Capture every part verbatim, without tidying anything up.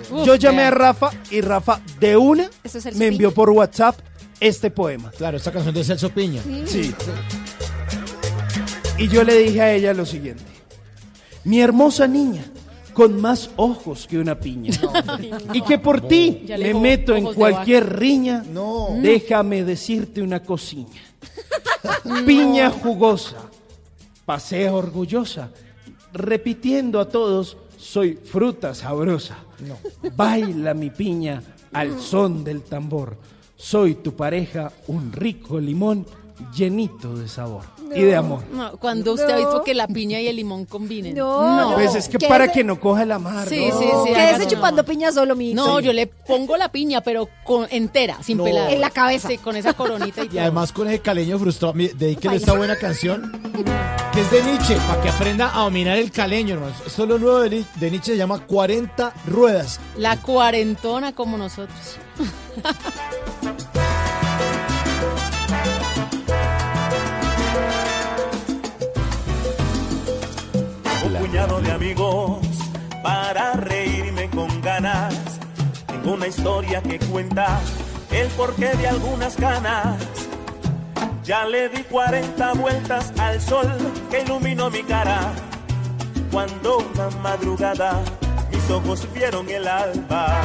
Uf, Yo llamé vea. a Rafa y Rafa de una Eso es el me envió por WhatsApp este poema. Claro, esta canción de Celso Piña. Sí. Y yo le dije a ella lo siguiente. Mi hermosa niña, con más ojos que una piña. Y que por ti Ya le me dijo meto en ojos de cualquier riña. No. Déjame decirte una cosilla. Piña jugosa, pasea orgullosa, repitiendo a todos, soy fruta sabrosa. No. Baila mi piña al son del tambor. Soy tu pareja, un rico limón llenito de sabor y de amor. No, cuando usted ha No. visto que la piña y el limón combinen. No, Pues es que ¿Qué para es? que no coja la mar. Sí, ¿no? sí, sí. Quédese hágase, chupando no. piña solo, mi No, yo le pongo la piña, pero con, entera, sin No. pelar. En la cabeza. Sí, con esa coronita y, Y todo. además con ese caleño frustrado, mi- dedíquele esta buena canción que es de Nietzsche, para que aprenda a dominar el caleño, hermano. Esto es lo nuevo de, Ni- de Nietzsche, se llama cuarenta ruedas. La cuarentona como nosotros. Un puñado de amigos para reírme con ganas. Tengo una historia que cuenta el porqué de algunas ganas. Ya le di cuarenta vueltas al sol que iluminó mi cara. Cuando una madrugada mis ojos vieron el alba.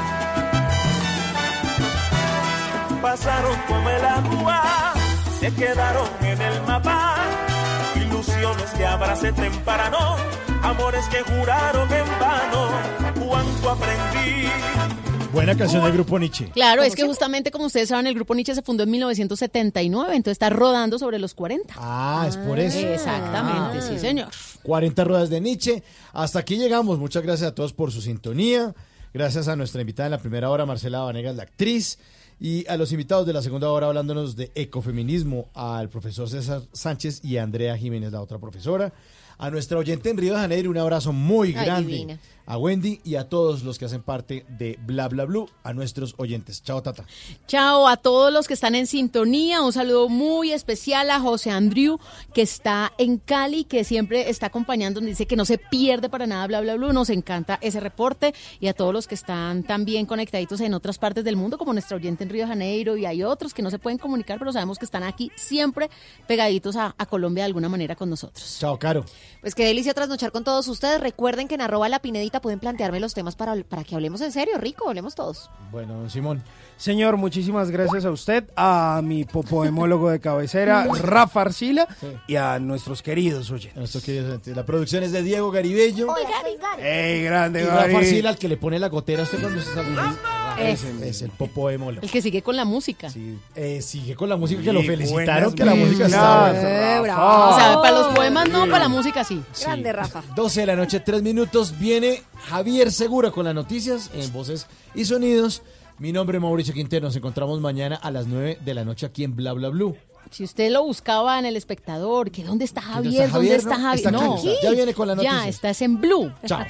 Pasaron como el agua, se quedaron en el mapa. Ilusiones que abracé temprano, amores que juraron en vano. Cuánto aprendí. Buena canción del grupo Nietzsche. Claro, es que justamente como ustedes saben, el grupo Nietzsche se fundó en mil novecientos setenta y nueve, entonces está rodando sobre los cuarenta. Ah, es por eso. Exactamente, sí, señor. cuarenta ruedas de Nietzsche. Hasta aquí llegamos. Muchas gracias a todos por su sintonía. Gracias a nuestra invitada en la primera hora, Marcela Vanegas, la actriz. Y a los invitados de la segunda hora hablándonos de ecofeminismo, al profesor César Sánchez y a Andrea Jiménez, la otra profesora. A nuestra oyente en Río de Janeiro, un abrazo muy Ay, grande. divina. A Wendy y a todos los que hacen parte de Bla Bla Blue, a nuestros oyentes. Chao, Tata. Chao a todos los que están en sintonía. Un saludo muy especial a José Andrew, que está en Cali, que siempre está acompañando. Dice que no se pierde para nada Bla Bla Blue. Nos encanta ese reporte. Y a todos los que están también conectaditos en otras partes del mundo, como nuestra oyente en Río de Janeiro. Y hay otros que no se pueden comunicar, pero sabemos que están aquí siempre pegaditos a, a Colombia de alguna manera con nosotros. Chao, Caro. Pues qué delicia trasnochar con todos ustedes. Recuerden que en arroba la pinedita pueden plantearme los temas para, para que hablemos en serio, rico, hablemos todos. Bueno, don Simón. Señor, muchísimas gracias a usted, a mi popoemólogo de cabecera, Rafa Arcila, Sí. y a nuestros queridos oyentes. Nuestros queridos oyentes. La producción es de Diego Garibello. ¡Ey, grande, Y Rafa Gary! Arcila, al que le pone la gotera a usted cuando se sale. Es. Ese es el popoemólogo. El que sigue con la música. Sí, eh, sigue con la música, que Sí, lo felicitaron, buenas que la música mezclas, está buena. Eh, Rafa. bravo. O sea, para los poemas no, para la música sí. Sí. Grande, Rafa. doce de la noche, tres minutos. Viene Javier Segura con las noticias en Voces y Sonidos. Mi nombre es Mauricio Quintero. Nos encontramos mañana a las nueve de la noche aquí en Bla Bla Blue. Si usted lo buscaba en el espectador, que ¿dónde está ¿Dónde Javier? está ¿Dónde Javier? está No, Javier? está aquí, No, está. Ya viene con las ya noticias. estás en Blue. Chao.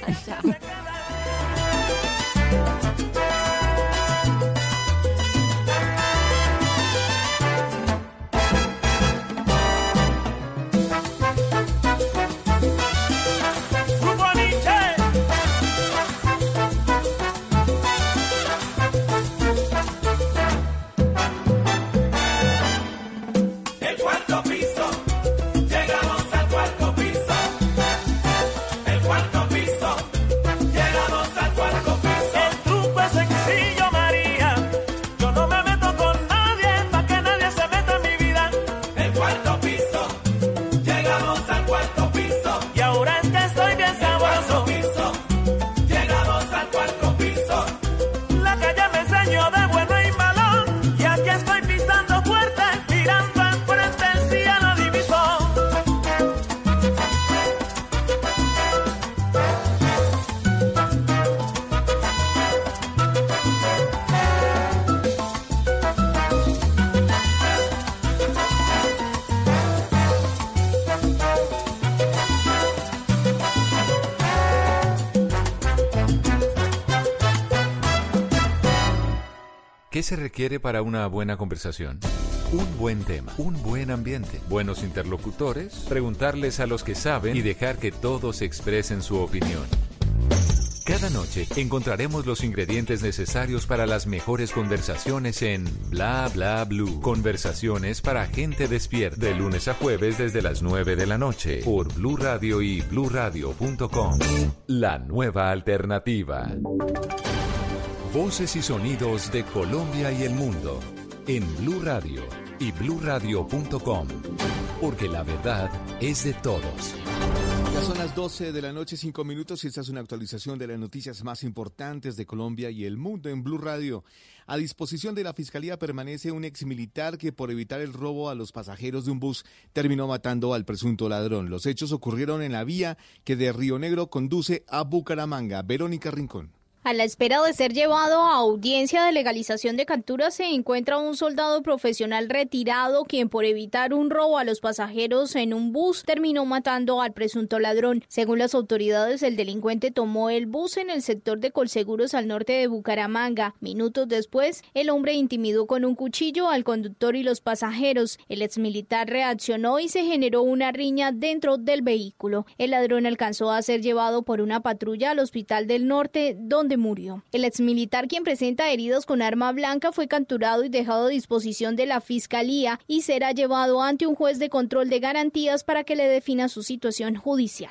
Grupo Nietzsche. El cuarto piso, llegamos al cuarto piso. El cuarto piso, llegamos al cuarto piso. El truco es sencillo, María. Yo no me meto con nadie, pa' que nadie se meta en mi vida. El cuarto piso, llegamos al cuarto piso. Y ahora es que estoy bien sabroso. Llegamos al cuarto piso. La calle me enseñó de bueno y malo. Y aquí estoy pisando fuerte, mirando al frente, el cielo diviso. ¿Qué se requiere para una buena conversación? Un buen tema, un buen ambiente, buenos interlocutores, preguntarles a los que saben y dejar que todos expresen su opinión. Cada noche encontraremos los ingredientes necesarios para las mejores conversaciones en Bla Bla Blue. Conversaciones para gente despierta. De lunes a jueves desde las nueve de la noche por Blue Radio y blue radio punto com. La nueva alternativa. Voces y sonidos de Colombia y el mundo en Blue Radio y blue radio punto com. Porque la verdad es de todos. Ya son las doce de la noche, cinco minutos, y esta es una actualización de las noticias más importantes de Colombia y el mundo en Blue Radio. A disposición de la Fiscalía permanece un exmilitar que, por evitar el robo a los pasajeros de un bus, terminó matando al presunto ladrón. Los hechos ocurrieron en la vía que de Río Negro conduce a Bucaramanga. Verónica Rincón. A la espera de ser llevado a audiencia de legalización de captura se encuentra un soldado profesional retirado quien por evitar un robo a los pasajeros en un bus terminó matando al presunto ladrón. Según las autoridades, el delincuente tomó el bus en el sector de Colseguros al norte de Bucaramanga. Minutos después, el hombre intimidó con un cuchillo al conductor y los pasajeros. El exmilitar reaccionó y se generó una riña dentro del vehículo. El ladrón alcanzó a ser llevado por una patrulla al Hospital del Norte, donde murió. El exmilitar, quien presenta heridos con arma blanca, fue capturado y dejado a disposición de la Fiscalía y será llevado ante un juez de control de garantías para que le defina su situación judicial.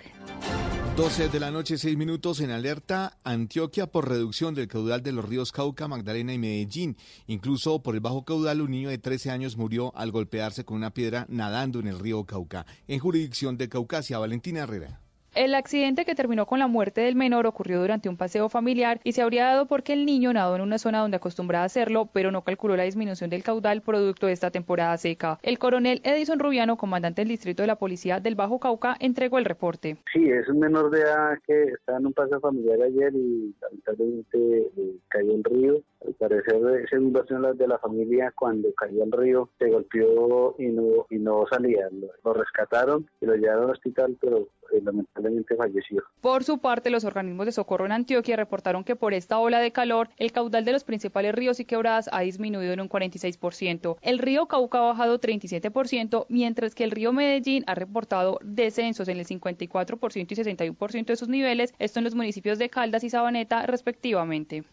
doce de la noche, seis minutos, en alerta Antioquia por reducción del caudal de los ríos Cauca, Magdalena y Medellín. Incluso por el bajo caudal, un niño de trece años murió al golpearse con una piedra nadando en el río Cauca. En jurisdicción de Caucasia, Valentina Herrera. El accidente que terminó con la muerte del menor ocurrió durante un paseo familiar y se habría dado porque el niño nadó en una zona donde acostumbraba hacerlo, pero no calculó la disminución del caudal producto de esta temporada seca. El coronel Edison Rubiano, comandante del distrito de la policía del Bajo Cauca, entregó el reporte. Sí, es un menor de edad que estaba en un paseo familiar ayer y lamentablemente eh, cayó el río. Al parecer, según versión de la familia, cuando cayó al río se golpeó y no y no salía. Lo, lo rescataron y lo llevaron al hospital, pero eh, lamentablemente falleció. Por su parte, los organismos de socorro en Antioquia reportaron que por esta ola de calor, el caudal de los principales ríos y quebradas ha disminuido en un cuarenta y seis por ciento. El río Cauca ha bajado treinta y siete por ciento, mientras que el río Medellín ha reportado descensos en el cincuenta y cuatro por ciento y sesenta y uno por ciento de sus niveles, esto en los municipios de Caldas y Sabaneta, respectivamente.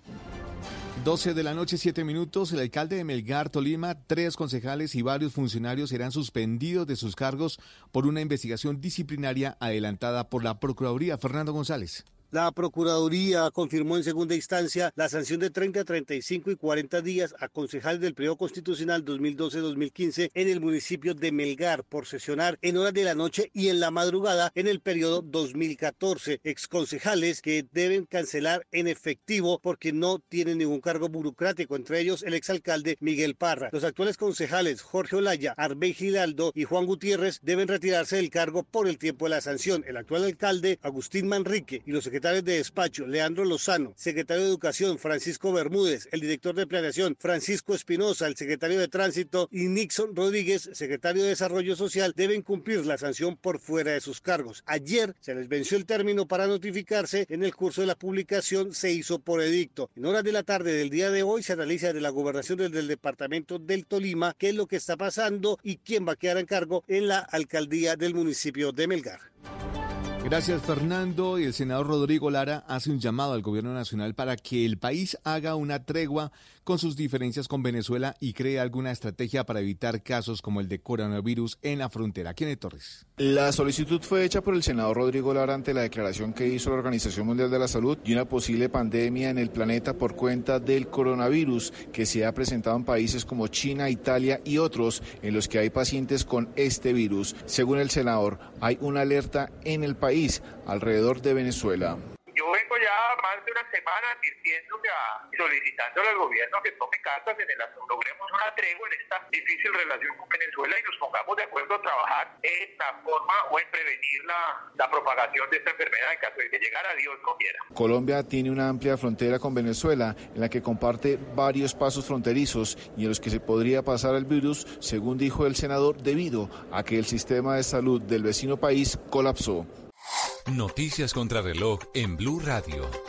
doce de la noche, siete minutos, el alcalde de Melgar, Tolima, tres concejales y varios funcionarios serán suspendidos de sus cargos por una investigación disciplinaria adelantada por la Procuraduría. Fernando González. La Procuraduría confirmó en segunda instancia la sanción de treinta, treinta y cinco y cuarenta días a concejales del periodo constitucional dos mil doce a dos mil quince en el municipio de Melgar por sesionar en horas de la noche y en la madrugada en el periodo dos mil catorce. Exconcejales que deben cancelar en efectivo porque no tienen ningún cargo burocrático, entre ellos el exalcalde Miguel Parra. Los actuales concejales Jorge Olaya, Arbey Giraldo y Juan Gutiérrez deben retirarse del cargo por el tiempo de la sanción. El actual alcalde Agustín Manrique y los secretarios secretarios de despacho, Leandro Lozano, secretario de Educación, Francisco Bermúdez, el director de Planeación, Francisco Espinosa, el secretario de Tránsito y Nixon Rodríguez, secretario de Desarrollo Social, deben cumplir la sanción por fuera de sus cargos. Ayer se les venció el término para notificarse, en el curso de la publicación se hizo por edicto. En horas de la tarde del día de hoy se analiza desde la gobernación desde el departamento del Tolima qué es lo que está pasando y quién va a quedar en cargo en la alcaldía del municipio de Melgar. Gracias, Fernando. Y el senador Rodrigo Lara hace un llamado al gobierno nacional para que el país haga una tregua con sus diferencias con Venezuela y cree alguna estrategia para evitar casos como el de coronavirus en la frontera. Kenneth Torres. La solicitud fue hecha por el senador Rodrigo Lara ante la declaración que hizo la Organización Mundial de la Salud de una posible pandemia en el planeta por cuenta del coronavirus que se ha presentado en países como China, Italia y otros en los que hay pacientes con este virus. Según el senador, hay una alerta en el país alrededor de Venezuela. Yo vengo ya más de una semana diciéndole a, solicitándole al gobierno que tome cartas en el asunto, logremos una tregua en esta difícil relación con Venezuela y nos pongamos de acuerdo a trabajar en la forma o en prevenir la, la propagación de esta enfermedad en caso de que llegara, Dios no quiera. Colombia tiene una amplia frontera con Venezuela en la que comparte varios pasos fronterizos y en los que se podría pasar el virus, según dijo el senador, debido a que el sistema de salud del vecino país colapsó. Noticias contra reloj en Blue Radio.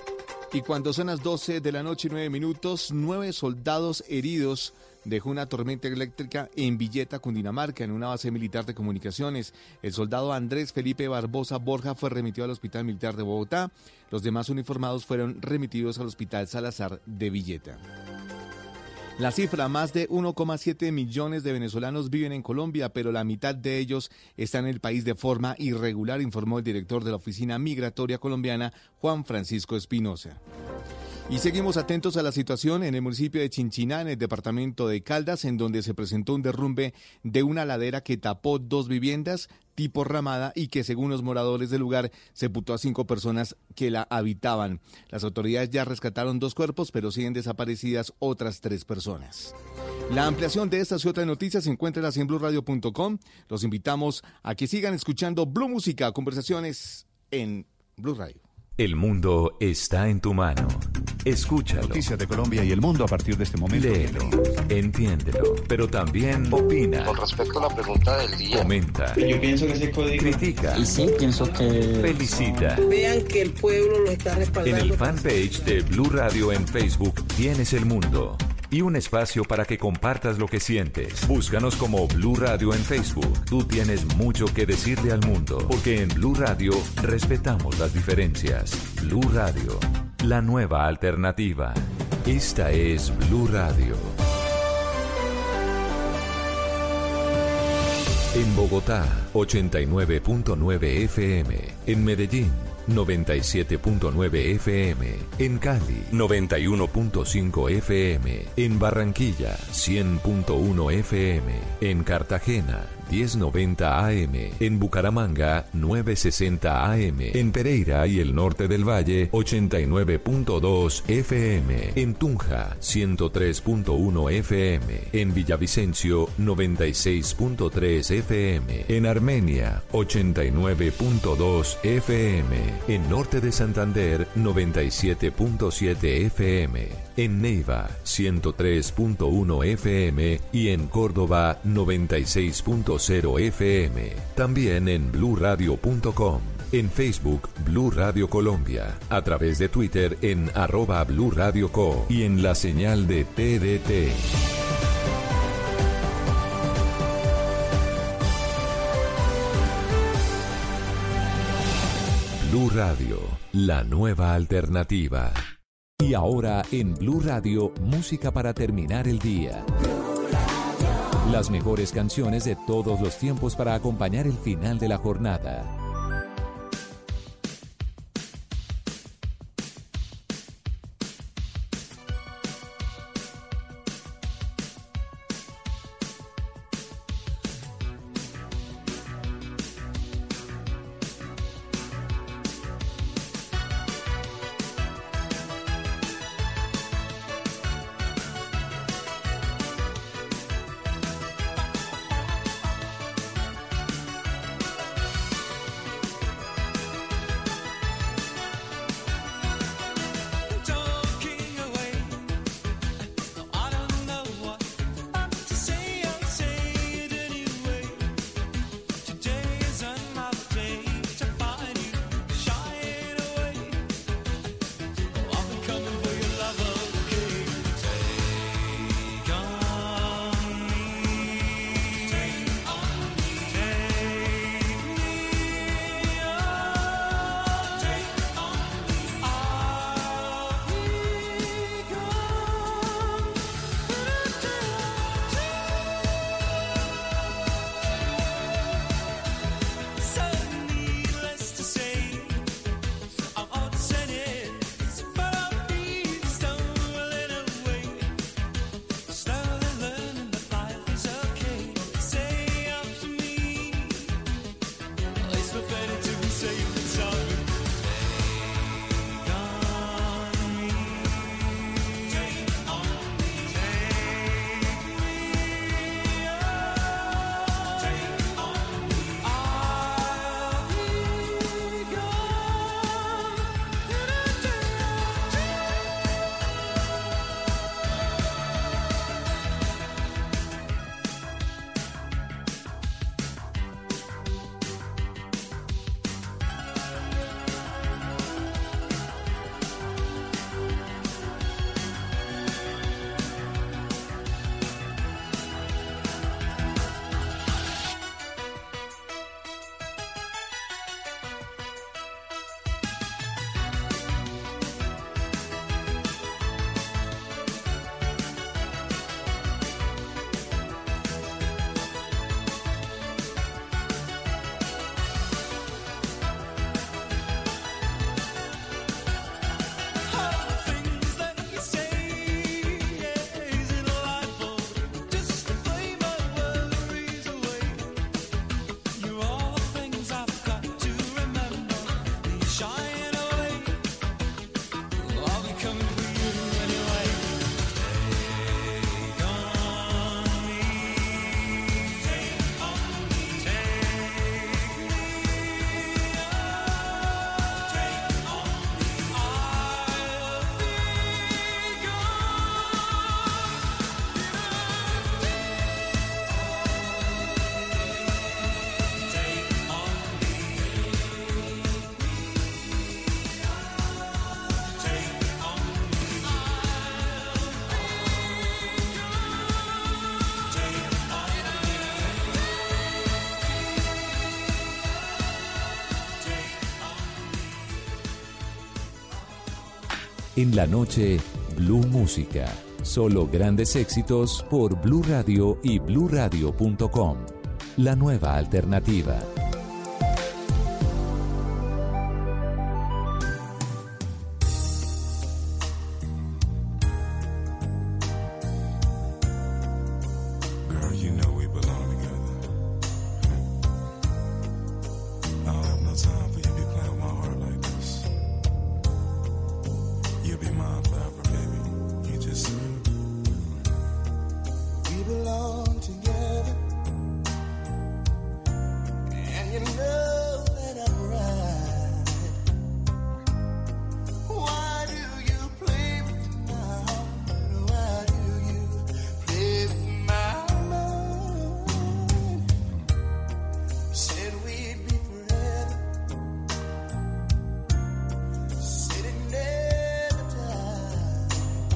Y cuando son las doce de la noche y nueve minutos, nueve soldados heridos dejó una tormenta eléctrica en Villeta, Cundinamarca, en una base militar de comunicaciones. El soldado Andrés Felipe Barbosa Borja fue remitido al Hospital Militar de Bogotá. Los demás uniformados fueron remitidos al Hospital Salazar de Villeta. La cifra, más de uno coma siete millones de venezolanos viven en Colombia, pero la mitad de ellos están en el país de forma irregular, informó el director de la Oficina Migratoria Colombiana, Juan Francisco Espinosa. Y seguimos atentos a la situación en el municipio de Chinchiná, en el departamento de Caldas, en donde se presentó un derrumbe de una ladera que tapó dos viviendas tipo ramada y que, según los moradores del lugar, sepultó a cinco personas que la habitaban. Las autoridades ya rescataron dos cuerpos, pero siguen desaparecidas otras tres personas. La ampliación de estas y otras noticias se encuentra en blue radio punto com. Los invitamos a que sigan escuchando Blue Música, conversaciones en Blue Radio. El mundo está en tu mano. Escúchalo. Noticias de Colombia y el mundo a partir de este momento. Léelo, entiéndelo, pero también opina. Con respecto a la pregunta del día. Comenta. Yo pienso que ese código. Critica. Y sí, pienso que. Felicita. Vean que el pueblo lo está respaldando. En el fanpage de Blue Radio en Facebook tienes el mundo. Y un espacio para que compartas lo que sientes. Búscanos como Blue Radio en Facebook. Tú tienes mucho que decirle al mundo, porque en Blue Radio respetamos las diferencias. Blue Radio, la nueva alternativa. Esta es Blue Radio. En Bogotá, ochenta y nueve punto nueve F M. En Medellín, noventa y siete punto nueve F M. En Cali, noventa y uno punto cinco F M. En Barranquilla, cien punto uno F M. En Cartagena, diez noventa A M. En Bucaramanga, novecientos sesenta A M. En Pereira y el norte del Valle, ochenta y nueve punto dos F M. En Tunja, ciento tres punto uno F M. En Villavicencio, noventa y seis punto tres F M. En Armenia, ochenta y nueve punto dos F M. En norte de Santander, noventa y siete punto siete F M. En Neiva, ciento tres punto uno F M. Y en Córdoba, noventa y seis punto cero F M. También en blue radio punto com. En Facebook, Blue Radio Colombia. A través de Twitter en arroba Blue Radio Co. Y en la señal de T D T. Blue Radio, la nueva alternativa. Y ahora en Blue Radio, música para terminar el día. Las mejores canciones de todos los tiempos para acompañar el final de la jornada. En la noche, Blue Música. Solo grandes éxitos por Blue Radio y blue radio punto com. La nueva alternativa. Girl, you know we belong together. I don't have no time for you to be playing with my heart like this. You'll be mine forever, baby. You just said. We belong together, and you know that I'm right. Why do you play with my heart? Why do you play with my mind? You said we'd be forever, said it never died.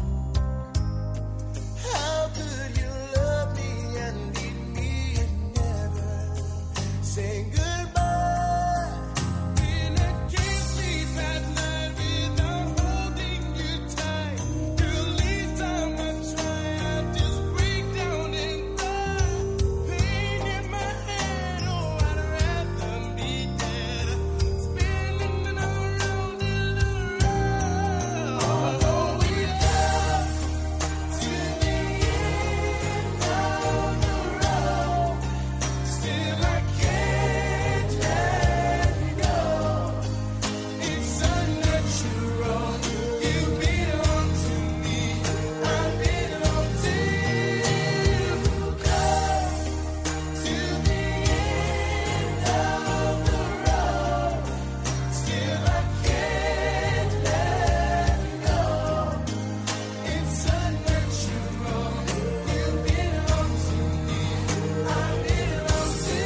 How could you love me and leave me and never say goodbye? And I can't sleep at night without holding you tight. Girl, each time I try, I just break down and cry. Pain in my head, oh, I'd rather be dead. Spinning around and around. Although we love to the end of the road, still I can't let you go. It's unnatural. You belong to me, I belong to you. Come to the end of the road, still I can't let you go. It's unnatural. You belong to me, I belong to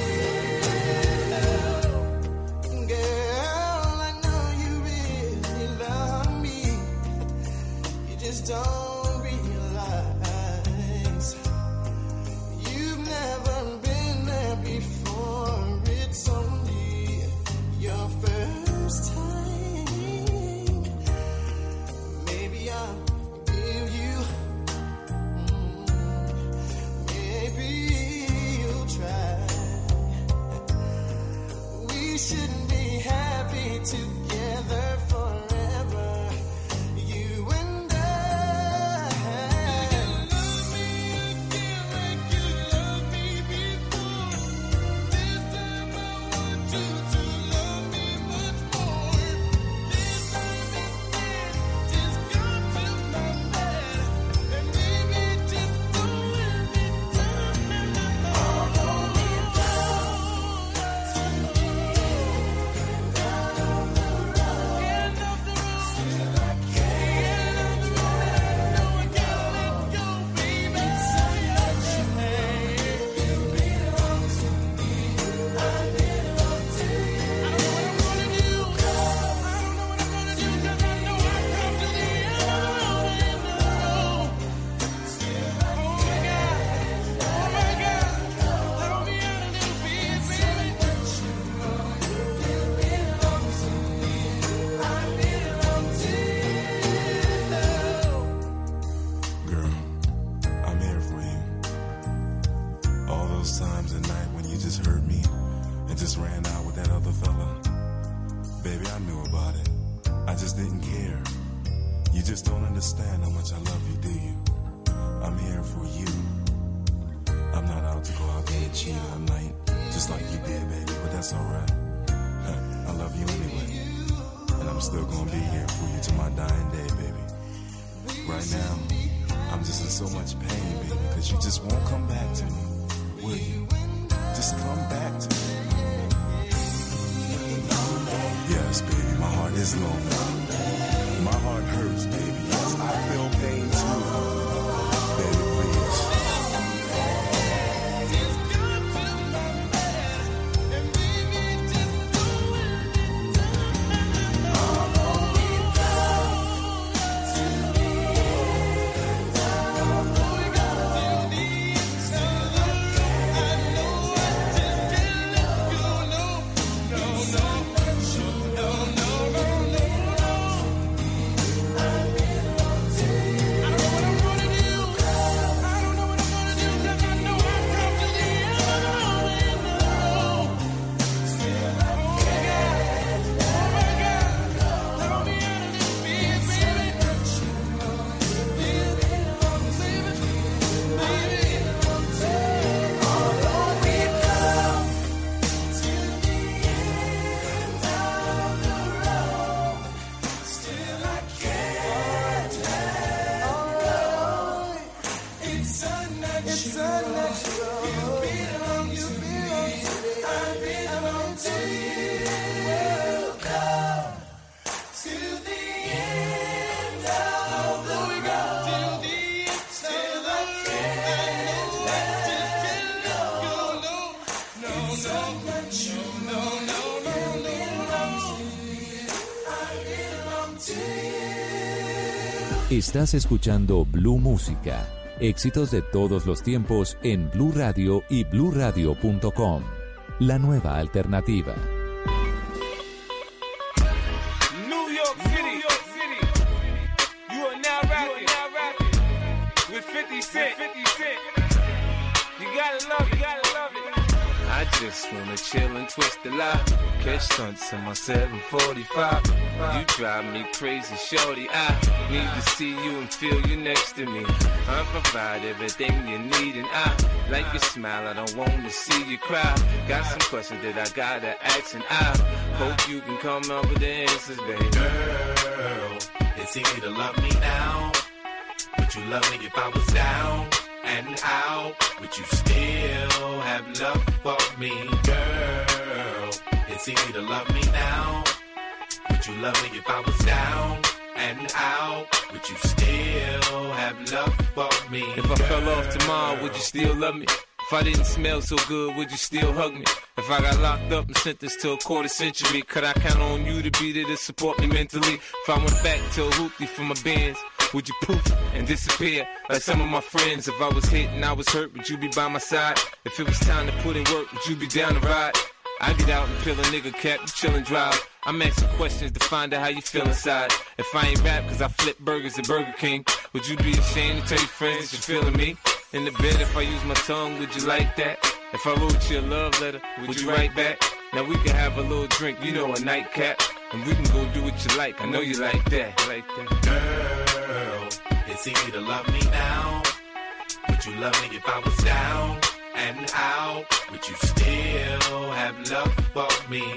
you. Girl, I know you really love me. You just don't realize you've never been there before. It's only your first time. Maybe I'll forgive you. Maybe you'll try. We should be happy together forever, you and I. You love me again like you loved me before. This time I want you to love me much more. This time instead, just come to my bed and baby, just don't let me down. Although we go to the end of the road, end of the road, still I can't let go. No, I can't let go, baby. It's unnatural. You belong to me, I belong to you. I don't know what I'm gonna do. I don't know what I'm gonna do 'cause I know I come to the end of the road, end of the road. Still I oh my God, oh my God, let me out a little bit, baby. You belong to me, I belong to you. Girl, I'm here for you. All those times at night when you just hurt me and just ran out with that other fella. Baby, I knew about it. I just didn't care. You just don't understand how much I love you, do you? I'm here for you. I'm not out to go out there and cheat all night, just like you did, baby, but that's alright. I love you anyway. And I'm still gonna be here for you to my dying day, baby. Right now, I'm just in so much pain, baby, because you just won't come back to me. Will you? Just come back to me. Yes, baby, my heart is lonely. My heart hurts, baby. Yes, I feel pain too. Baby, please. No, no, no, no, no, no. certain that you belong, you belong to me. I belong to you. Welcome to the end of the road. Till the end, till I can't let it go. No, no, certain that you no, no, no, belong to me. I belong to you. Estás escuchando Blue Música. Éxitos de todos los tiempos en Blue Radio y blue radio punto com. La nueva alternativa. New York City, New York City. You are now rapping, now rapping with fifty Cent. fifty Cent. You gotta love it, you gotta love it. I just wanna chill and twist the lie. Catch stunts in my seven forty-five. You drive me crazy, shorty. I need to see you and feel you next to me. I provide everything you need, and I like your smile. I don't want to see you cry. Got some questions that I gotta ask, and I hope you can come up with the answers, baby. Girl, it's easy to love me now. Would you love me if I was down and out? Would you still have love for me, girl? It's easy to love me now. Would you love me if I was down and out? Would you still have love for me, If I girl? fell off tomorrow, would you still love me? If I didn't smell so good, would you still hug me? If I got locked up and sentenced to a quarter century, could I count on you to be there to support me mentally? If I went back to a hoopty for my bands, would you poof and disappear like some of my friends? If I was hit and I was hurt, would you be by my side? If it was time to put in work, would you be down to ride? I get out and peel a nigga cap, you chillin' drive. I'm asking questions to find out how you feel inside. If I ain't rap cause I flip burgers at Burger King, would you be ashamed to tell your friends that you're feeling me? In the bed, if I use my tongue, would you like that? If I wrote you a love letter, would you write back? Now we can have a little drink, you know, a nightcap, and we can go do what you like. I know you like that, like that. Girl, it's easy to love me now. Would you love me if I was down and out? Would you still have love for me,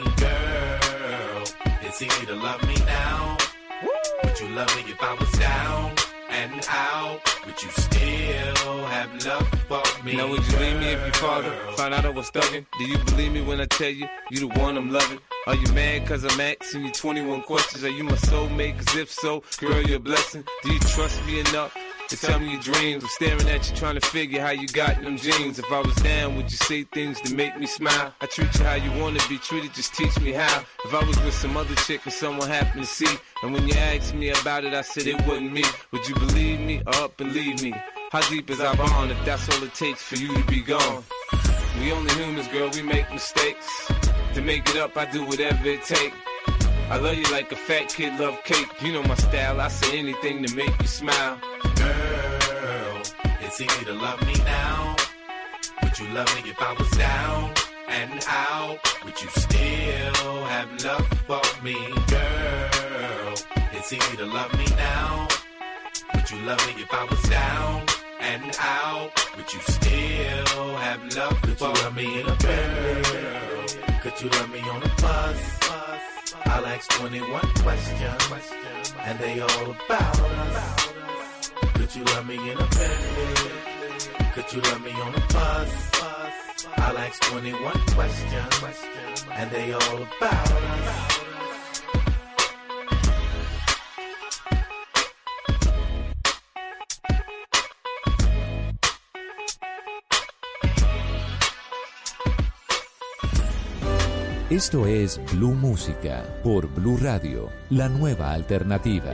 girl? It's easy to love me now. Would you love me if I was down and out? Would you still have love for me? Now would you leave me if your father found out I was thugging? Do you believe me when I tell you, you the one I'm loving? Are you mad cause I'm asking you twenty-one questions? Are you my soulmate? Cause if so, girl, you're a blessing. Do you trust me enough to tell me your dreams? I'm staring at you trying to figure how you got them jeans. If I was down, would you say things to make me smile? I treat you how you wanna be treated, just teach me how. If I was with some other chick and someone happened to see, and when you asked me about it, I said it wasn't me, would you believe me or up and leave me? How deep is our bond if that's all it takes for you to be gone? We only humans, girl, we make mistakes. To make it up, I do whatever it takes. I love you like a fat kid love cake. You know my style, I say anything to make you smile. Girl, it's easy to love me now. Would you love me if I was down and out? Would you still have love for me, girl? It's easy to love me now. Would you love me if I was down and out? Would you still have love for me? Could you love me in a Bentley? Could you love me on a bus? I'll ask twenty-one questions, and they all about us. Could you love me in a Bentley? Could you love me on a bus? I'll ask twenty-one questions, and they all about us. Esto es Blue Música por Blue Radio, la nueva alternativa.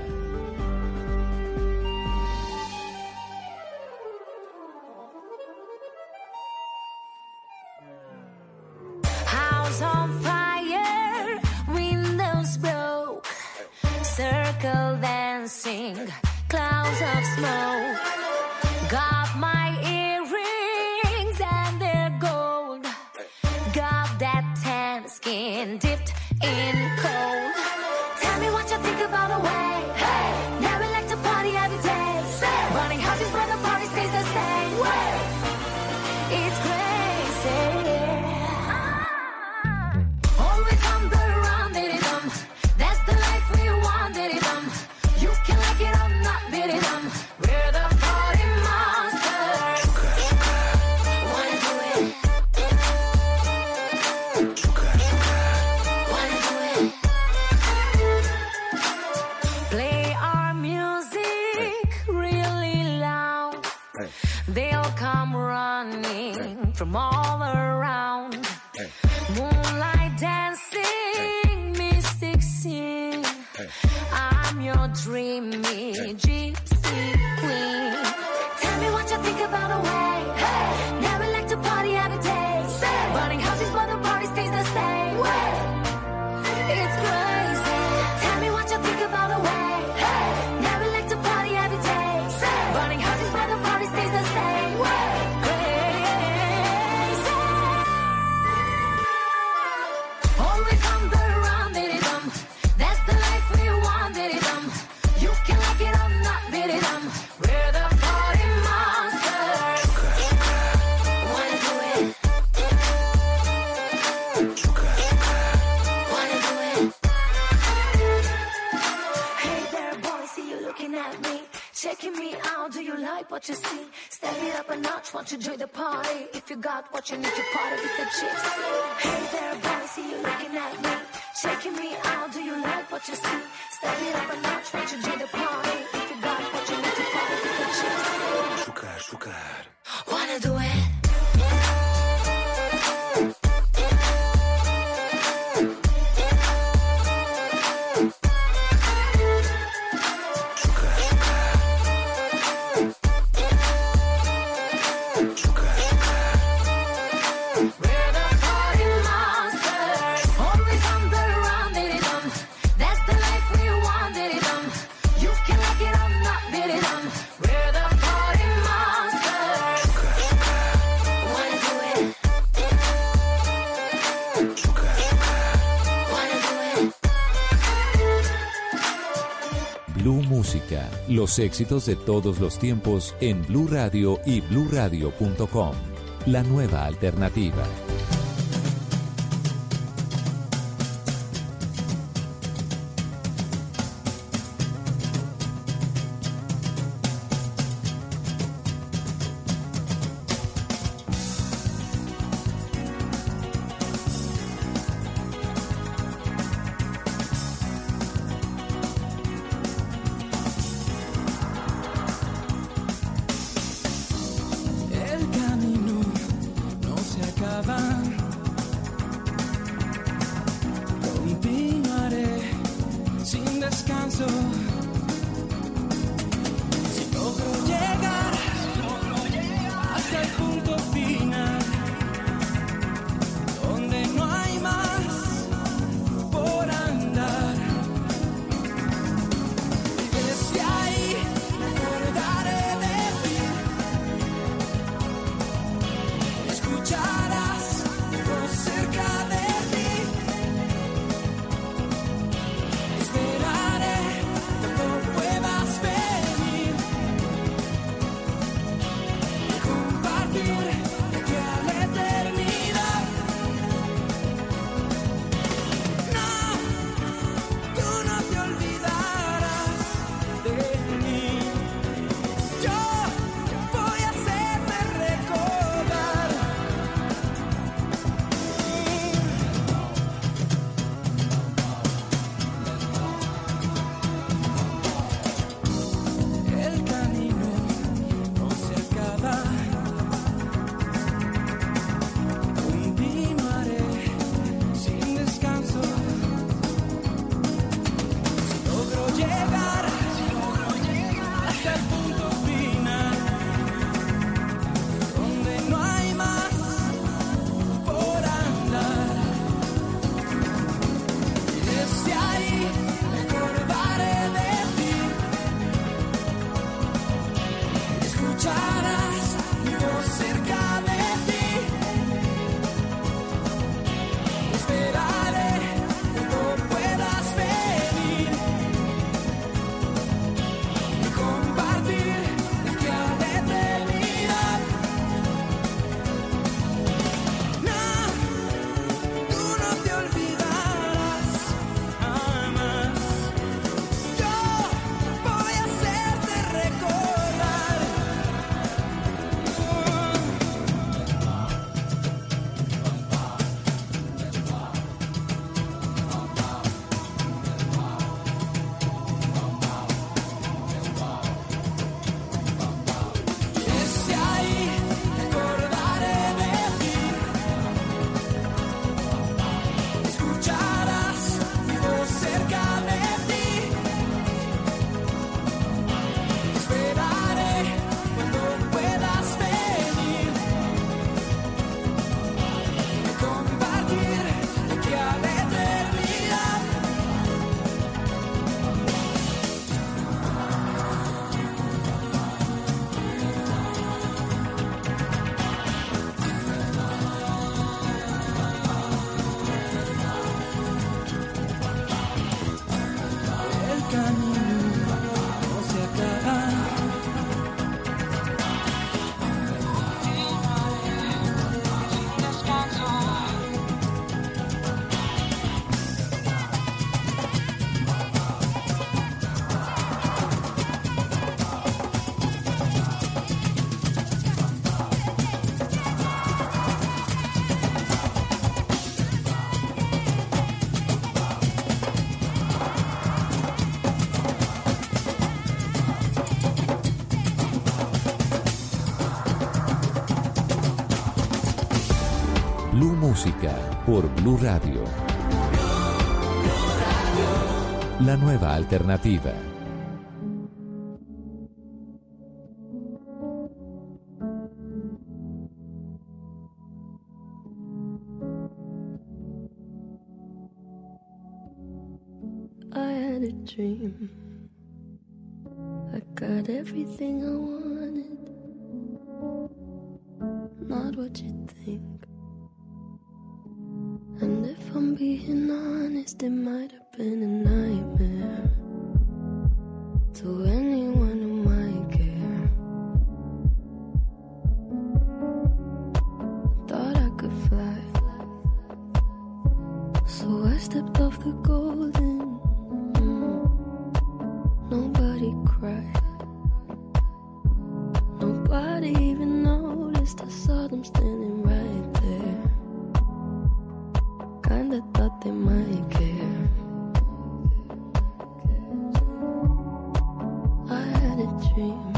House on fire, windows broke, circle dancing, clouds of smoke. Got my earrings and they're gold. Got that tan skin dipped in cold. Tell me what you think about the way. Hey, now we like to party every day. Say, running houses where the party stays the same way. It's crazy. Always on the run, diddy dum. That's the life we want, diddy dum. You can like it or not, diddy dum. We're the party monsters. They'll come running from all around. Moonlight dancing, mystic sing. I'm your dreamy gypsy queen. Tell me what you think about the way. Hey, never like to party every day. Say, burning houses but the party stays the same way. It's crazy. Tell me what you think about the way. Hey, never like to party every day. Say, burning houses but the party stays the same way. Crazy. Always on the run, diddy dum. That's the life we want, diddy dum. You can like it or not, diddy dum. We're the party monsters. Wanna do it? Wanna do it? Hey there, boy, see you looking at me, checking me out. Do you like what you see? Step it up a notch, want to join the party? If you got what you need to party with the chicks. Hey there, boy, see you looking at me, checking me out. Do you like what you see? Step it up a notch, want to join the party? If you got what you need to party with the chicks. Sugar, sugar. Wanna do it? We're the party monsters. Always on the run, diddy dum. That's the life we want, diddy dum. You can like it or not, diddy dum. We're the party monsters. Wanna do it? Wanna do it? Blue Música, los éxitos de todos los tiempos en Blue Radio y blue radio punto com. La nueva alternativa. El camino no se acaba. Música por Blue Radio. La nueva alternativa. I had a dream. I got everything I wanted. Not what you think. And if I'm being honest, it might have been a nightmare to anyone who might care. Thought I could fly, so I stepped off the golden. Mm. Nobody cried, nobody even noticed. I saw them standing right there. Kinda thought they might care. I had a dream.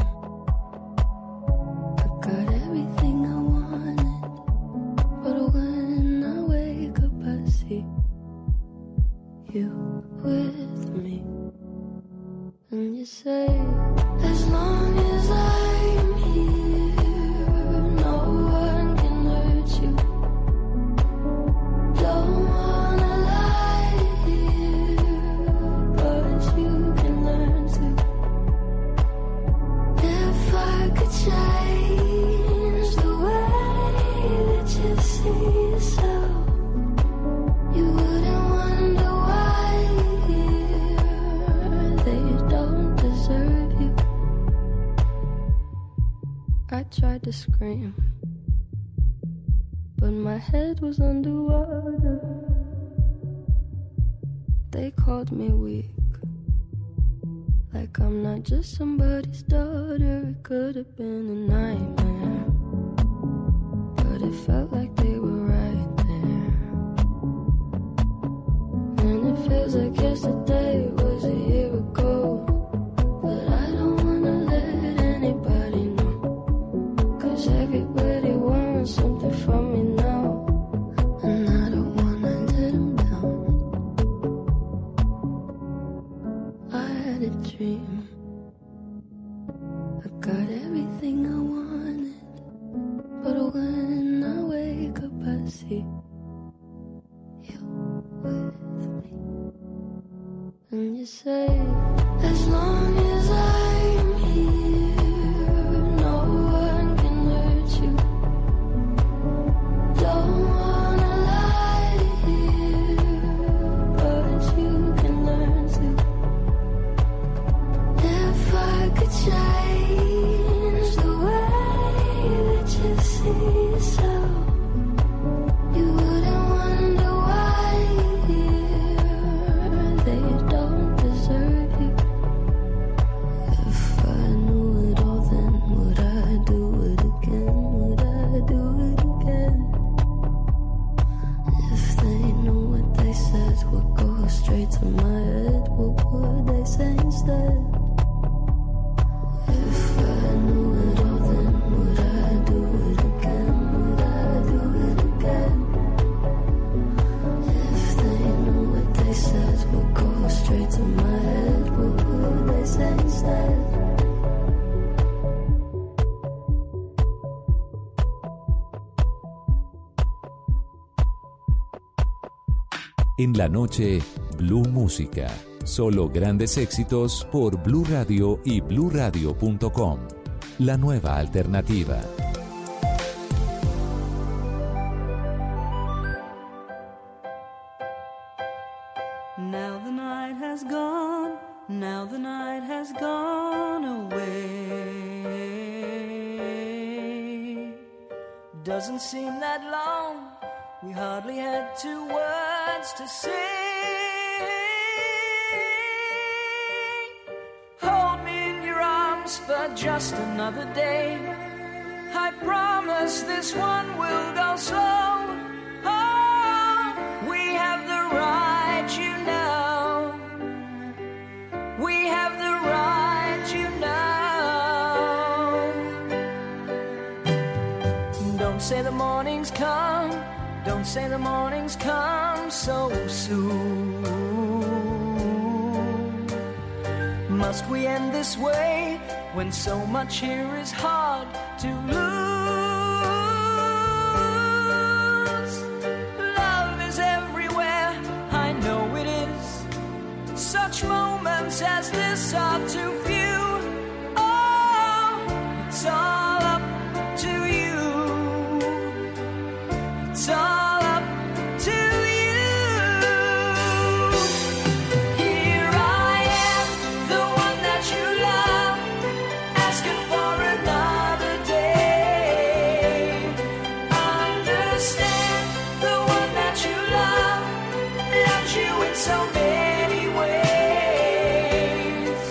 I got everything I wanted, but when I wake up I see you with me. And you say, as long as I'm here, no one can hurt you. Don't wanna lie here, but you can learn to. If I could change the way that you see yourself, you wouldn't wonder why here they don't deserve you. I tried to scream, but my head was underwater. They called me weak, like I'm not just somebody's daughter. It could have been a nightmare, but it felt like they were right there. And it feels like yesterday was a year ago, but I don't wanna let anybody know, 'cause everybody wants something from me now, and I don't wanna let them down. I had a dream. I got everything I wanted, but when I wake up I see you with me. And you say, as long as I'm here, no one can hurt you. Don't wanna lie here, but you can learn to. If I could change the way that you see yourself, you wouldn't wonder why here they don't deserve you. If I knew it all, then would I do it again? Would I do it again? If they knew what they said would go straight to my head, what would they say instead? If I knew it all, then would I do it again? Would I do it again? If they knew what they said would go straight to my head, what would they say instead? En la noche, Blue Música. Solo grandes éxitos por Blue Radio y blue radio punto com. La nueva alternativa. Now the night has gone, now the night has gone away. Doesn't seem that long, we hardly had two words to say. Hold me in your arms for just another day. I promise this one will go slow. Oh, we have the right, you know. We have the right, you know. Don't say the morning's come Don't say the morning's come so soon. Must we end this way when so much here is hard to lose? Love is everywhere, I know it is. Such moments as this are too few. Oh, it's all up to you. It's all up to you. Here I am, the one that you love, asking for another day. Understand, the one that you love loves you in so many ways.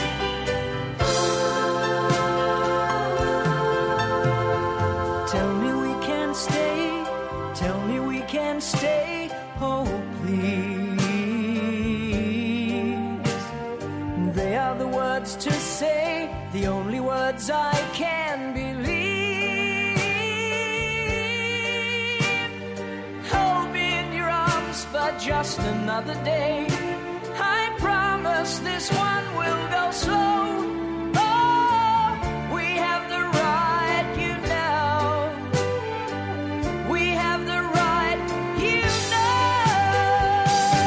Tell me we can stay, tell me we can stay, oh please. They are the words to say, the only words I can believe. Hold me in your arms for just another day. I promise this one will go slow. Oh, we have the right, you know. We have the right, you know.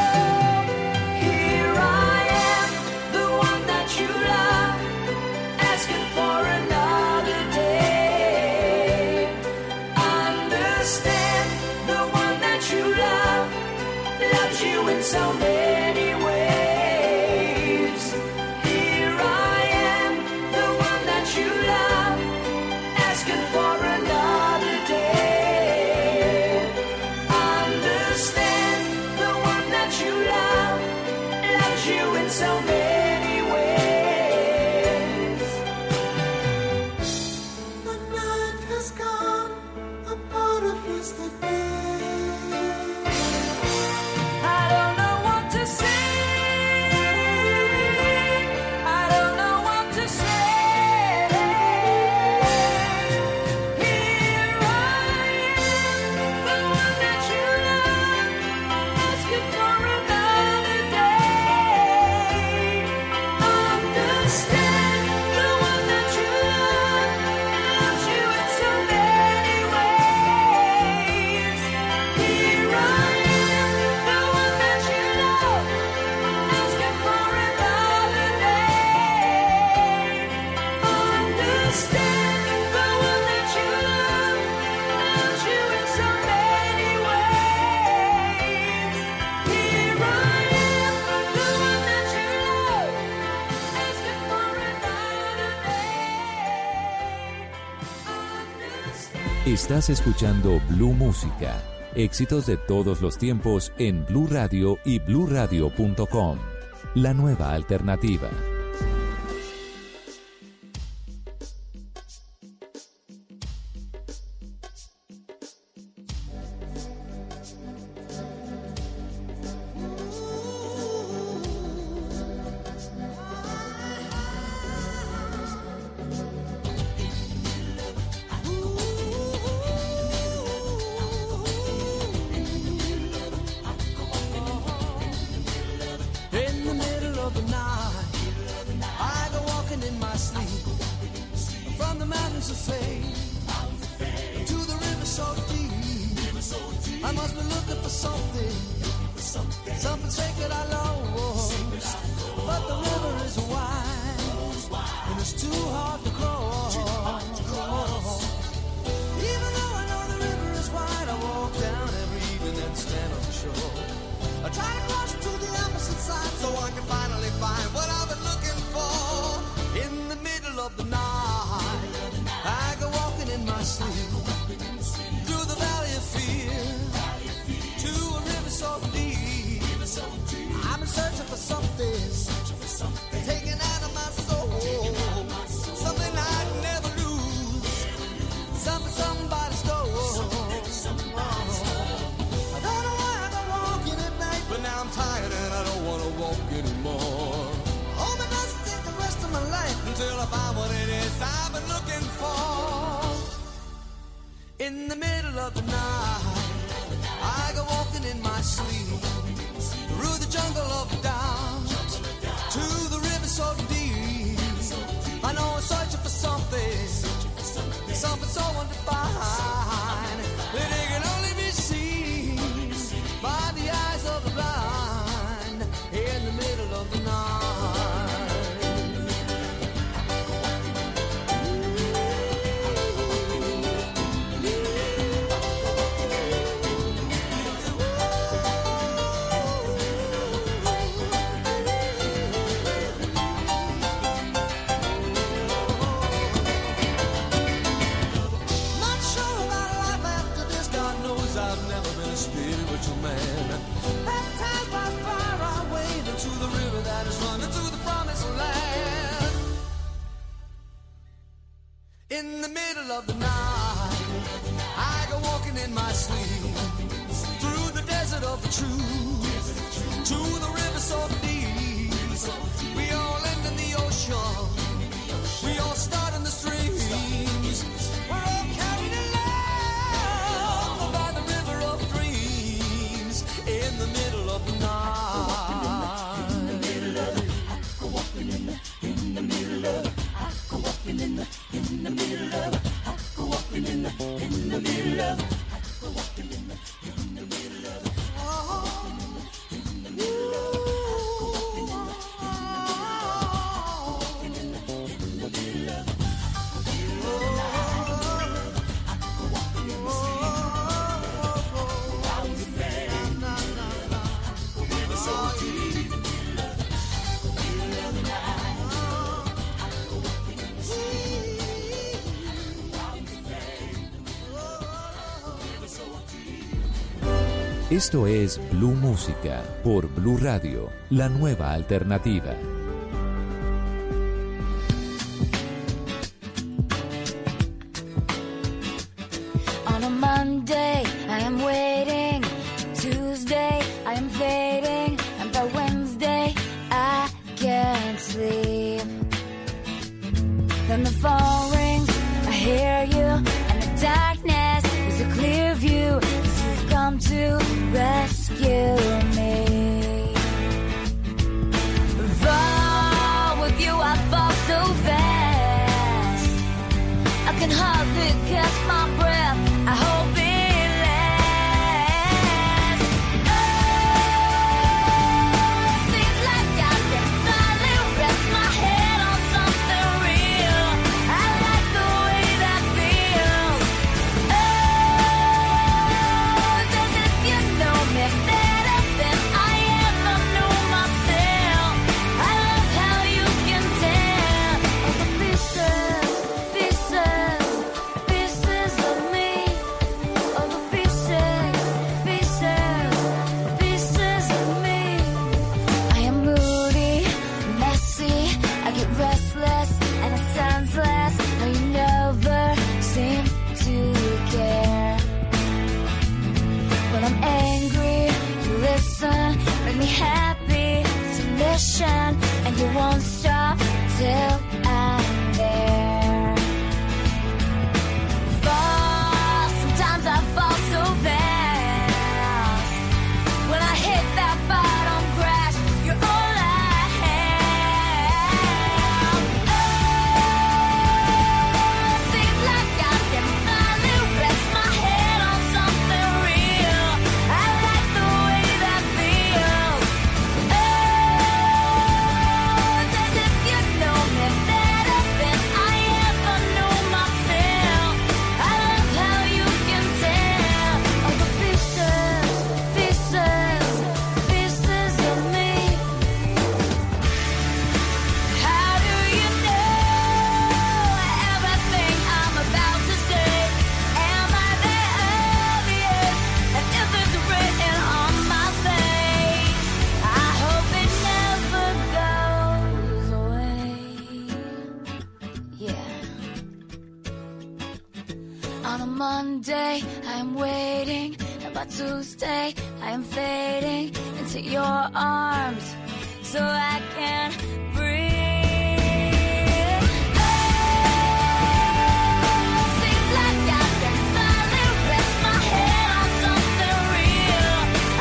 Here I am, the one that you love, asking for another day. Understand, the one that you love loves you in so many ways. Here I am, the one that you love, asking for another day. Understand, the one that you love loves you in so many ways. The night has gone, a part of yesterday. I don't know what to say. I don't know what to say. Here I am, the one that you love, asking for another day. Understand, the one that you love loves you in so many ways. Here I am, the one that you love, asking for another day. Understand, the one that you love loves you in so many ways. Here I am, the one that you love, asking for another day. Estás escuchando Blue Música. Éxitos de todos los tiempos en Blue Radio y blue radio punto com. La nueva alternativa. In the middle of the night, I go walking in my sleep, from the mountains of fame to the river so deep. I must be looking for something, something sacred I lost. But the river is wide, and it's too hard to cross. Even though I know the river is wide, I walk down every evening and stand on the shore. I try to cross to the opposite side so I can finally find what I've been looking for. In the middle of the night, I go walking in my sleep through the valley of fear to a river so deep. I've been searching for something, taken out of my soul, something I'd never lose, something somebody stole. I don't know why I go walking at night, but now I'm tired and I don't want to walk anymore. Hope it doesn't take the rest of my life until I find what it is I've been looking for. In the middle of the night, walking in my sleep through the jungle of doubt to the river so deep. I know I'm searching for something, something so undefined that it can only be seen by the eyes of the blind in the middle of the night. Not sure about life after this, God knows I've never been a spiritual man. Baptized by fire, I wade into the river that is running to the promised land. In the middle of the night, I go walking in my sleep through the desert of the truth to the river so deep. We all end in the ocean. We all start in the streams. We're all carried along by the river of dreams in the middle of the night. In the middle of it, I go walking in the, in the middle of it, I go walking in the, in the middle of it, I go walking in the, in the middle of it, I go walking in the, in the middle of it. Oh, in the middle of it, I go walking in the, in the middle of it, in the middle of it. Esto es Blue Música por Blue Radio, la nueva alternativa. On a Monday, I am waiting. Tuesday, I am fading. And by Wednesday, I can't sleep. Then the phone rings, I hear you. And the darkness is a clear view. 'Cause you've come to rescue me. Fall with you, I fall so fast. I can hardly catch my breath. I hope it lasts. Oh, seems like I can finally rest my head on something real. I like the way that feels. Oh, as if you know me better than I ever knew myself. I love how you can tell all the pieces, pieces, pieces of me. All the pieces, pieces, pieces of me. I am moody, messy. I get restless, and it sounds less. How you never seem to care. When I'm angry, you listen, make me happy to listen, and you won't stop till I'm there. Fall, sometimes I fall so fast. When I hit that bottom crash, you're all I have. Oh, seems like I can finally rest my head on something real. I like the way that feels. Oh, it's as if you know me better than I ever knew myself. I love how you can tell all the pieces, pieces, pieces of me. How do you know everything I'm about to say? Am I that obvious? And if it's written on my face, I hope it never goes away. Yeah. On a Monday, I am waiting, and by Tuesday, I am fading into your arms, so I can breathe. Oh, seems like I can finally rest my head on something real.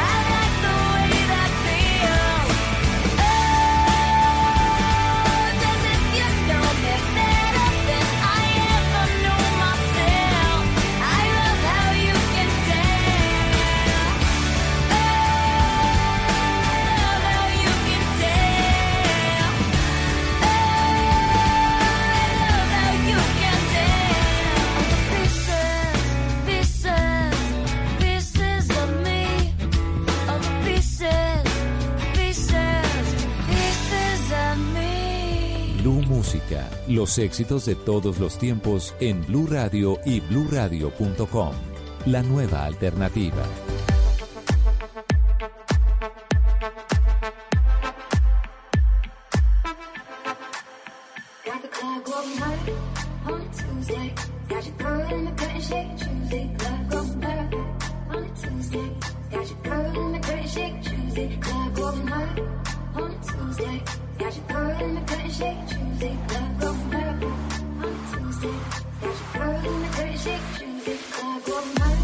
Música, los éxitos de todos los tiempos en Blue Radio y blue radio punto com. La nueva alternativa. Got the club going hard on a Tuesday. Got your girl in the cut and shake Tuesday. Club going hard on a Tuesday. Got your girl in the cut and shake Tuesday. Club going hard on a Tuesday. Got your girl in the cut and shake Tuesday. Club going hard on a Tuesday. Got your girl in the cut and shake Tuesday. Club going hard.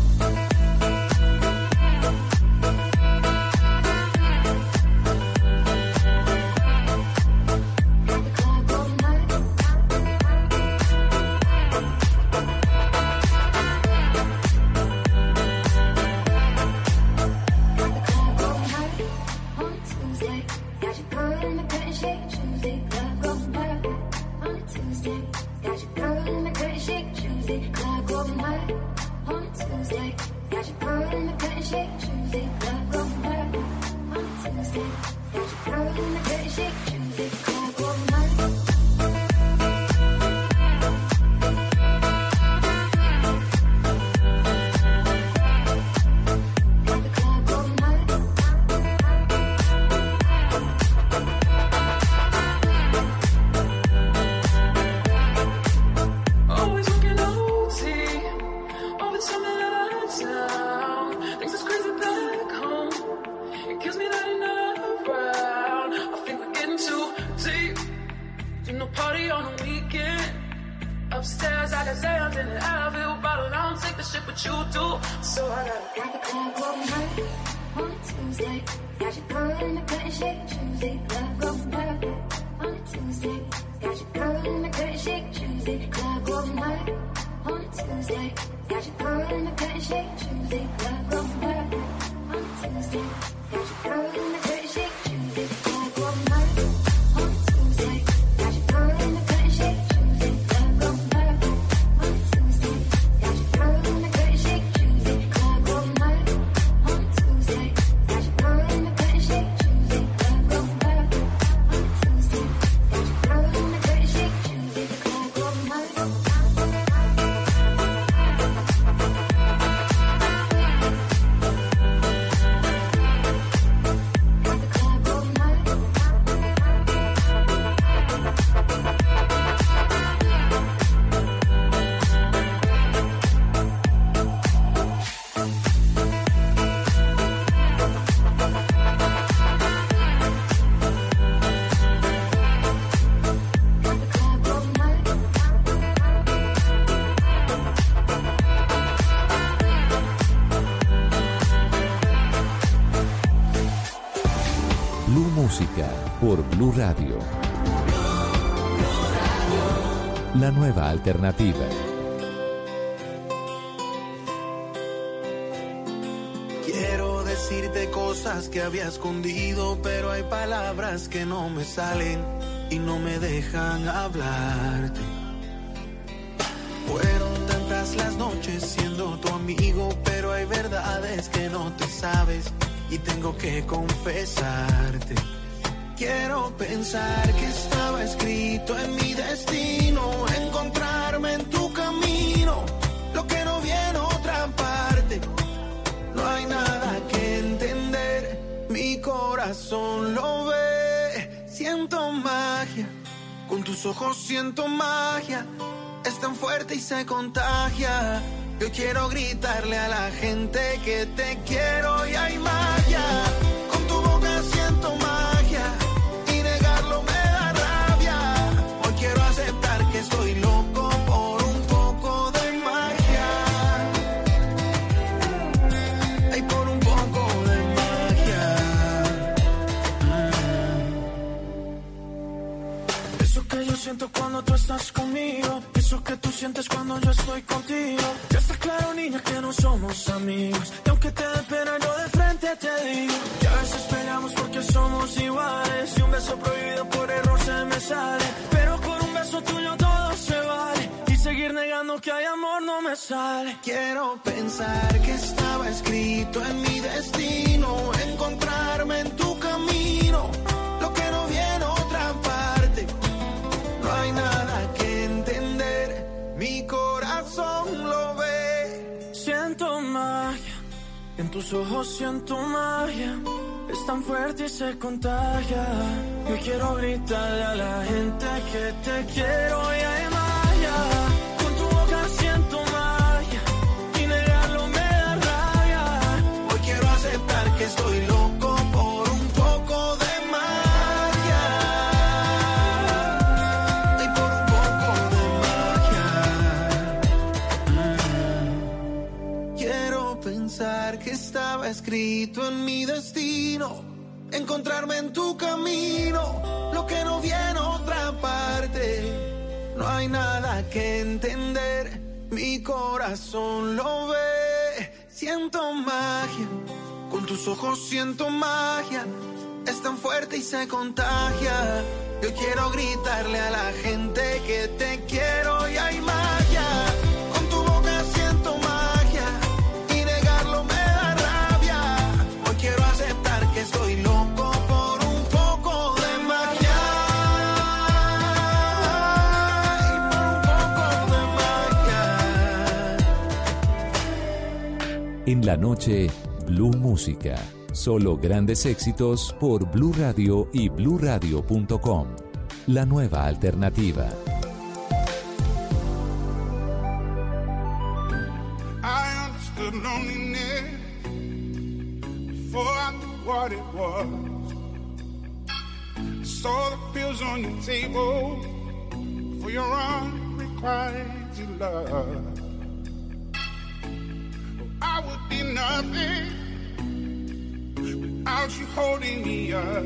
Por Blue Radio. La nueva alternativa. Quiero decirte cosas que había escondido, pero hay palabras que no me salen y no me dejan hablarte. Fueron tantas las noches siendo tu amigo, pero hay verdades que no te sabes y tengo que confesarte. Quiero pensar que estaba escrito en mi destino, encontrarme en tu camino, lo que no vi en otra parte. No hay nada que entender, mi corazón lo ve. Siento magia, con tus ojos siento magia, es tan fuerte y se contagia. Yo quiero gritarle a la gente que te quiero y hay magia. Con tu boca siento magia y negarlo me da rabia. Hoy quiero aceptar que estoy loco por un poco de magia. Ay, por un poco de magia. Mm. Eso que yo siento cuando tú estás conmigo, eso que tú sientes cuando yo estoy contigo. Ya está claro, niña, que no somos amigos. Y aunque te dé pena, yo de frente te digo que a veces peleamos porque somos iguales. Y un beso prohibido por error se me sale, pero con un beso tuyo todo se vale. Y seguir negando que hay amor no me sale. Quiero pensar que estaba escrito en mi destino, encontrarme en tu camino, lo que no vi en otra parte. No En tus ojos siento magia, es tan fuerte y se contagia. Yo quiero gritarle a la gente que te quiero y hay magia. Con tu boca siento magia y negarlo me da rabia. Hoy quiero aceptar que estoy loco por un poco de magia. Y por un poco de magia. Mm. Quiero pensar que estaba escrito en mi destino, encontrarme en tu camino, lo que no vi en otra parte. No hay nada que entender, mi corazón lo ve. Siento magia, con tus ojos siento magia, es tan fuerte y se contagia. Yo quiero gritarle a la gente que te quiero y hay magia. Con tu boca siento magia y negarlo me da rabia. Hoy quiero aceptar que estoy loco por un poco de magia. Y por un poco de magia. En la noche, Blue Música. Solo grandes éxitos por Blue Radio y blue radio punto com. La nueva alternativa. I understood loneliness before I knew what it was. Saw the pills on your table for your unrequited love. I would be nothing without you holding me up.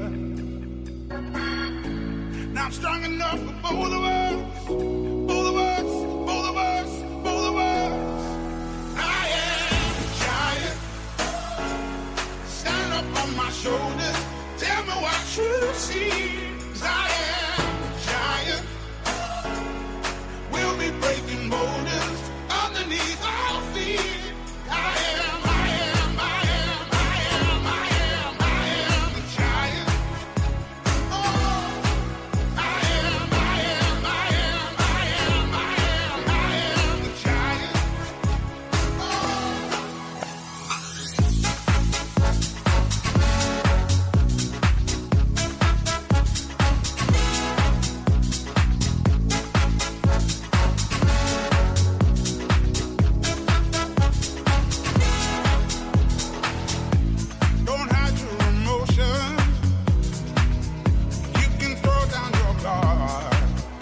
Now I'm strong enough for both of us, both of us, both of us, both of us. I am a giant. Stand up on my shoulders. Tell me what you see. 'Cause I am a giant. We'll be breaking boulders underneath our feet. I am, I am, I am, I am, I am, I am a giant. Oh, I am, I am, I am, I am, I am, I am the giant. Don't hide your emotions. You can throw down your guard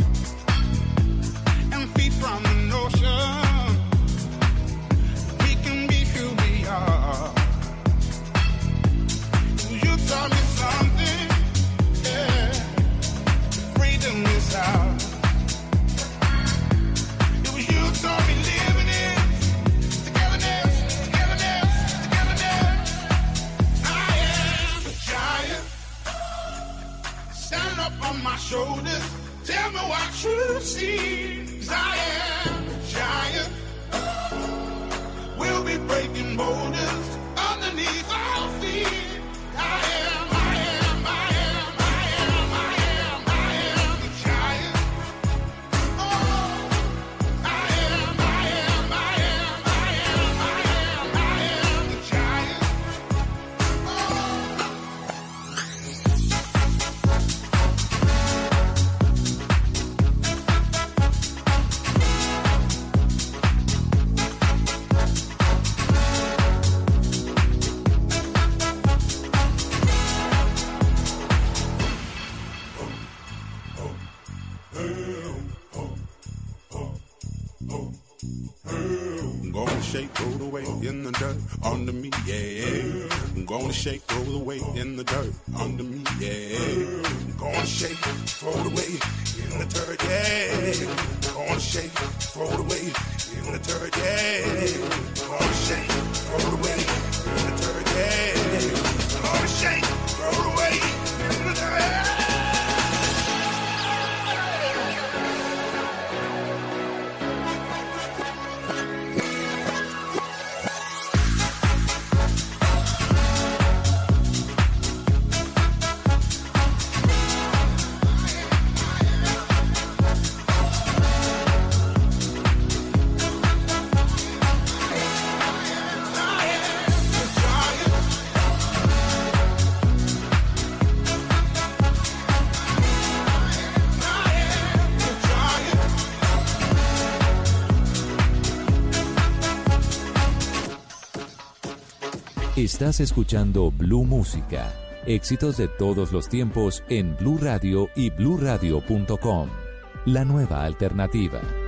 and feed from the notion. We can be who we are. You taught me something, yeah. Freedom is ours. It was you taught me living it. Togetherness, togetherness, togetherness. I am a giant. Stand up on my shoulders. Tell me what you see. 'Cause I am a giant. We'll be breaking boulders underneath our feet. I am, I am, I am, I am, I am, I am the giant. Oh, I am, I am, I am, I am, I am, I am the giant. I'm gonna shake, roll the way in the dirt under me, yeah. I'm gonna shake, roll the way in the dirt under me, yeah. I'm gonna shake, throw the way in the dirt, yeah. I'm gonna shake, throw the way in the dirt, yeah. I'm gonna shake, throw the way in the dirt, yeah. I'm gonna shake, throw the way in the dirt. Estás escuchando Blue Música. Éxitos de todos los tiempos en Blue Radio y blue radio punto com. La nueva alternativa.